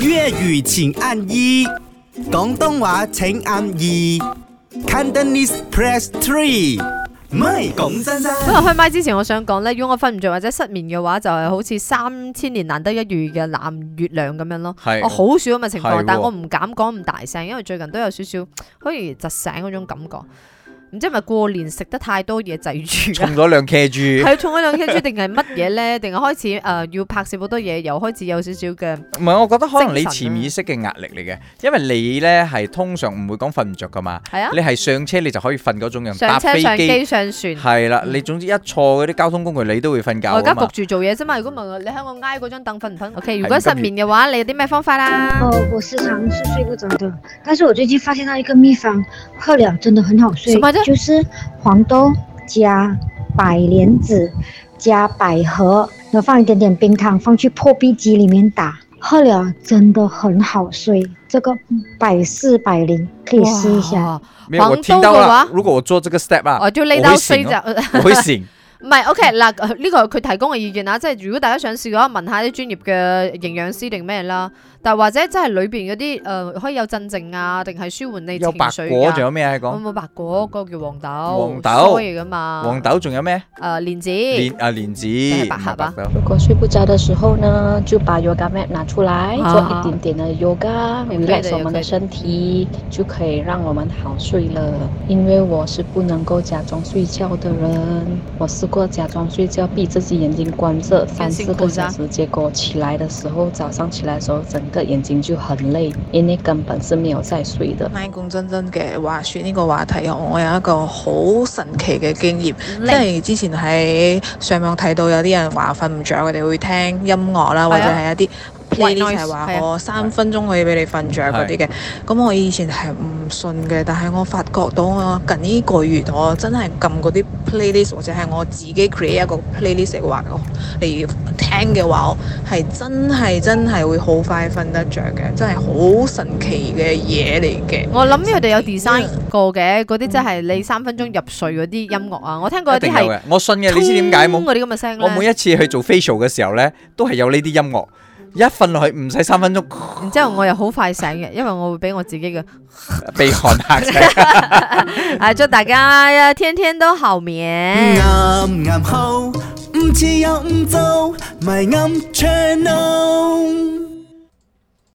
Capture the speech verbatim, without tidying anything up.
粵語請按一，廣東話請按二 Cantonese press three。唔係講真真。 咁啊，開麥之前我想講咧，如果我瞓唔着或者失眠嘅話，就係、是、好似三千年難得一遇嘅藍月亮咁樣咯。我好少咁嘅情況，但我唔敢講咁大聲，因為最近都有少少好似窒醒嗰種感覺。唔知係咪過年食得太多嘢滯住， 重咗兩 K G， 係重咗兩 K G 定係乜嘢咧？定係開始誒、呃、要拍攝好多嘢，又開始有少少嘅。 唔係，我覺得可能你潛意識嘅壓力嚟嘅，因為你咧係通常唔會講瞓唔着噶嘛。係啊，你係上車你就可以瞓嗰種人， 上車上機上船。係啦，你總之一坐嗰啲交通工具，你都會瞓覺。我而家焗住做嘢啫嘛。如果唔係你喺我挨嗰張凳瞓唔瞓 ？OK， 如果失眠嘅話，你有啲咩方法啦？ 哦，我時常是睡不着的，但是我最近發現到一個秘方，喝了真的很好睡。什麼啫？就是黃豆加白蓮子加百合，然後放一點點冰糖，放去破壁機裏面打，喝了真的很好睡。這個百試百靈，可以試一下。 沒有，我聽到了。如果我做這個 step 啊， 我就累到睡着， 我會醒。 唔係 ，OK 嗱，呢個係佢提供嘅意見啊，即係如果大家想試嘅話，問下啲專業嘅營養師定咩啦。但係或者真係裏邊嗰啲誒可以有鎮靜啊，定係舒緩你情緒㗎。有白果，仲有咩喺講？ 我冇白果，嗰個叫黃豆。 黃豆嚟㗎嘛。 黃豆仲有咩？ 誒蓮子。 蓮啊蓮子。 係百合啊。 如果睡不着的時候呢，就把 yoga mat 拿出來，做一點點的 yoga，relax 我們的身體，就可以讓我們好睡了。因為我是不能夠假裝睡覺的人，我試過假裝睡覺，逼自己眼睛關着三四個小時，結果起來的時候，早上起來的時候，整個眼睛就很累，因為根本是沒有在睡的。 咪講真真嘅話說呢個話題，我有一個好神奇嘅經驗，即係之前喺上網睇到有啲人話瞓唔着，佢哋會聽音樂啦，或者係一啲。playlist 係話我三分鐘可以俾你瞓着嗰啲嘅，咁我以前係唔信嘅，但係我發覺到我近呢個月我真係撳嗰啲 playlist 或者係我自己 create 一個 playlist 嘅話嚟聽嘅話，係真係真係會好快瞓得着嘅，真係好神奇嘅嘢嚟嘅。 我諗佢哋有 design 過嘅嗰啲，即係你三分鐘入睡嗰啲音樂啊，我聽過有啲係我信嘅，你知點解冇？ 嗰啲咁嘅聲咧。 我每一次去做 facial 嘅時候咧，都係有呢啲音樂。一瞓落去唔使三分鐘， 然之後我又好快醒嘅，因為我會俾我自己嘅鼻鼾嚇醒。 係祝大家天天都好眠。 啱啱好，唔似又唔做，咪啱 channel。